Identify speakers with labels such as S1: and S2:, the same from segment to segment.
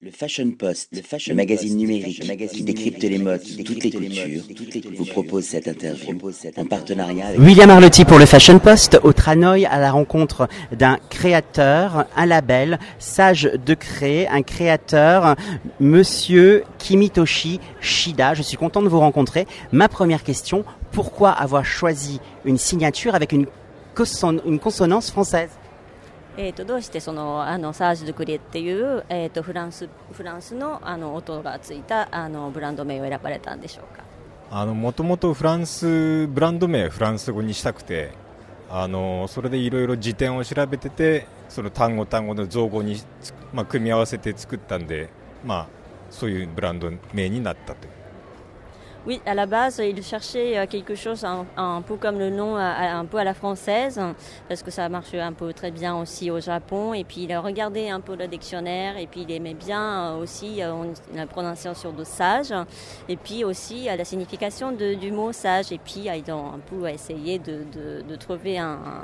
S1: Le Fashion Post, le magazine numérique qui décrypte les modes de toutes les cultures, vous propose cette interview en partenariat avec
S2: William Arlotti pour le Fashion Post, au Tranoï à la rencontre d'un créateur, un label, Sage de Créer, un créateur, Monsieur Kimitoshi Shida. Je suis content de vous rencontrer. Ma première question, pourquoi avoir choisi une signature avec une consonance française?
S3: どうしてサージ・ドゥ・クリエっていう、フランスの、音がついたブランド名を選ばれたんでしょうか。
S4: もともとフランスブランド名フランス語にしたくてそれでいろいろ辞典を調べててその単語の造語に、組み合わせて作ったんで、そういうブランド名になったという。
S3: Oui, à la base, il cherchait quelque chose un peu comme le nom, un peu à la française, parce que ça marche un peu très bien aussi au Japon. Et puis il a regardé un peu le dictionnaire, et puis il aimait bien aussi la prononciation de sage, et puis aussi la signification du mot sage. Et puis ils ont un peu essayé de trouver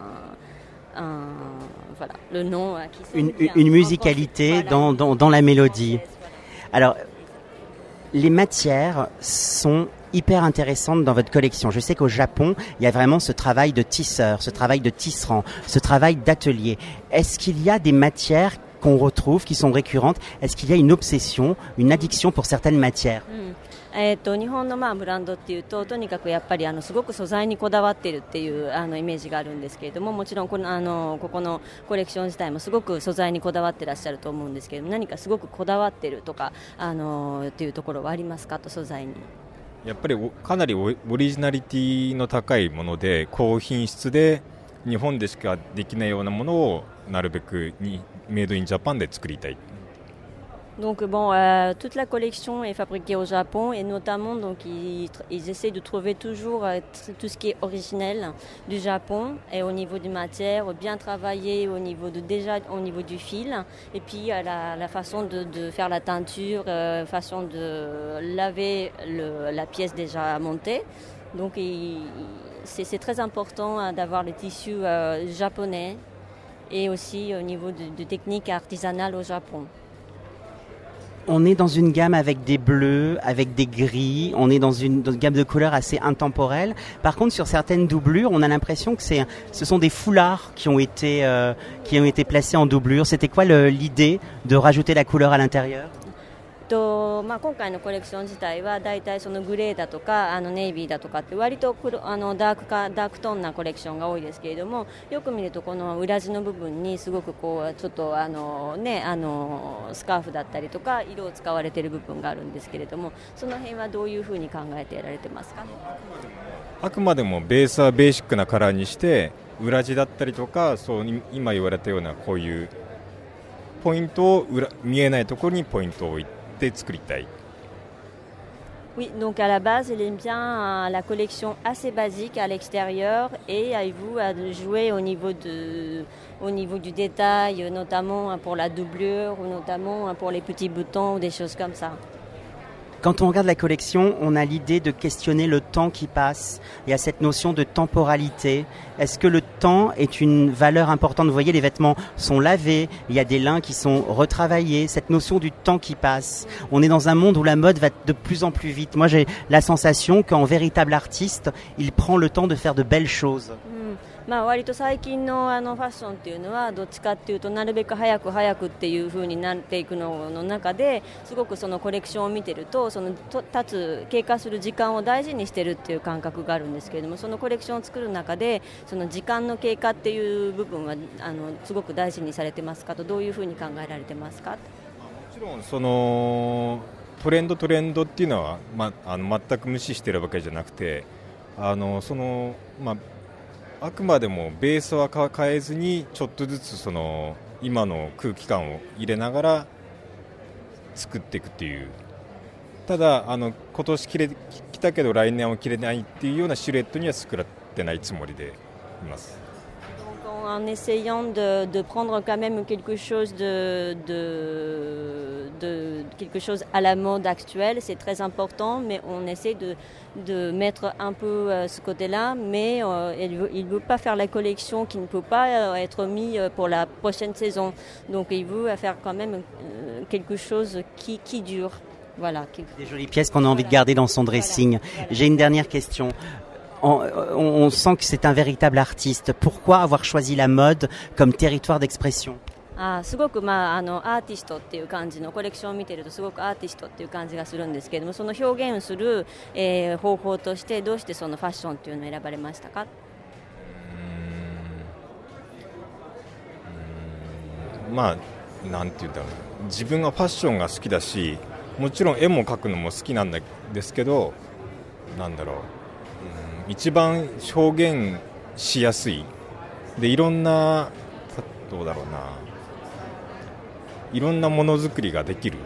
S3: voilà, le nom qui
S2: une musicalité dans la mélodie. Alors, les matières sont hyper intéressantes dans votre collection. Je sais qu'au Japon, il y a vraiment ce travail de tisseur, ce travail de tisserand, ce travail d'atelier. Est-ce qu'il y a des matières qu'on retrouve, qui sont récurrentes? Est-ce qu'il y a une obsession, une addiction pour certaines matières?
S3: 日本のブランドっていうととにかくやっぱりすごく素材にこだわっているっていうイメージがあるんですけれども、もちろんここのコレクション自体もすごく素材にこだわってらっしゃると思うんですけれども、何かすごくこだわっているとかっていうところはありますかと、素材に。
S4: やっぱりかなりオリジナリティの高いもので高品質で日本でしかできないようなものをなるべくメイドインジャパンで作りたい。
S3: Donc toute la collection est fabriquée au Japon et notamment donc ils essaient de trouver toujours tout ce qui est originel du Japon et au niveau des matières, bien travaillé au niveau du fil et puis la façon de faire la teinture, façon de laver la pièce déjà montée. Donc c'est très important d'avoir les tissus japonais et aussi au niveau de techniques artisanales au Japon.
S2: On est dans une gamme avec des bleus, avec des gris, on est dans une gamme de couleurs assez intemporelle. Par contre, sur certaines doublures, on a l'impression que ce sont des foulards qui ont été placés en doublure. C'était quoi l'idée de rajouter la couleur à l'intérieur?
S3: 今回のコレクション自体はだいたいそのグレーだとかネイビーだとかって割とダークトーンなコレクションが多いですけれども、よく見るとこの裏地の部分にすごくこうちょっとスカーフだったりとか色を使われている部分があるんですけれども、その辺はどういうふうに考えてやられてますか？
S4: あくまでもベースはベーシックなカラーにして裏地だったりとか、そう今言われたようなこういうポイントを見えないところにポイントを置いて
S3: Oui, donc à la base, il aime bien la collection assez basique à l'extérieur et avez-vous à jouer au niveau du détail, notamment pour la doublure ou notamment pour les petits boutons ou des choses comme ça.
S2: Quand on regarde la collection, on a l'idée de questionner le temps qui passe. Il y a cette notion de temporalité. Est-ce que le temps est une valeur importante? Vous voyez, les vêtements sont lavés, il y a des lins qui sont retravaillés. Cette notion du temps qui passe. On est dans un monde où la mode va de plus en plus vite. Moi, j'ai la sensation qu'en véritable artiste, il prend le temps de faire de belles choses.
S3: 割と最近のファッションっていうのはどっちかっていうとなるべく早くっていう風になっていくの中ですごくそのコレクションを見てるとその経過する時間を大事にしてるっていう感覚があるんですけれども、そのコレクションを作る中でその時間の経過っていう部分はすごく大事にされてますかと、どういう風に考えられてますか？も
S4: ちろんそのトレンドっていうのは、全く無視してるわけじゃなくてあくまでもベースは変えずにちょっとずつその今の空気感を入れながら作っていくっていう。ただ今年着たけど来年は着れないっていうようなシルエットには作ってないつもりでいます。
S3: En essayant de prendre quand même quelque chose quelque chose à la mode actuelle, c'est très important, mais on essaie de mettre un peu ce côté-là, mais il ne veut pas faire la collection qui ne peut pas être mise pour la prochaine saison. Donc il veut faire quand même quelque chose qui dure. Voilà.
S2: Des jolies pièces qu'on a envie de garder dans son dressing. J'ai une dernière question. On sent que c'est un véritable artiste. Pourquoi avoir choisi la mode comme territoire d'expression?
S3: すごく、アーティストっていう感じのコレクションを見てるとすごくアーティストっていう感じがするんですけれども、その表現する、方法としてどうしてそのファッションっていうのを選ばれましたか？
S4: なんて言うんだろう、自分がファッションが好きだし、もちろん絵も描くのも好きなんですけど、なんだろう、一番表現しやすいで、いろんなどうだろうな、いろんなものづくりができる、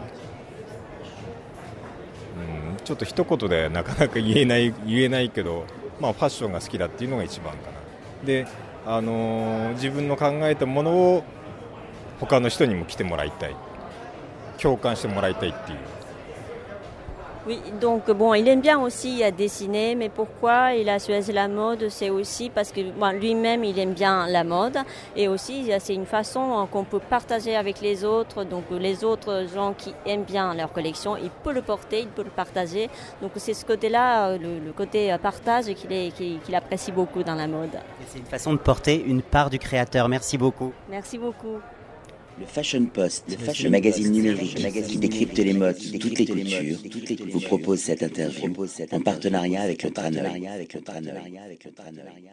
S4: ちょっと一言でなかなか言えないけど、ファッションが好きだっていうのが一番かな。で、自分の考えたものを他の人にも着てもらいたい、共感してもらいたいっていう。
S3: Oui, donc bon, il aime bien aussi dessiner, mais pourquoi il a choisi la mode, c'est aussi parce que lui-même il aime bien la mode, et aussi c'est une façon qu'on peut partager avec les autres, donc les autres gens qui aiment bien leur collection, il peut le porter, il peut le partager, donc c'est ce côté-là, le côté partage qu'il apprécie beaucoup dans la mode.
S2: Et c'est une façon de porter une part du créateur. Merci beaucoup.
S3: Merci beaucoup.
S1: Le Fashion Post, le magazine numérique qui décrypte les modes, toutes les cultures, vous propose cette interview en partenariat avec le Traneur.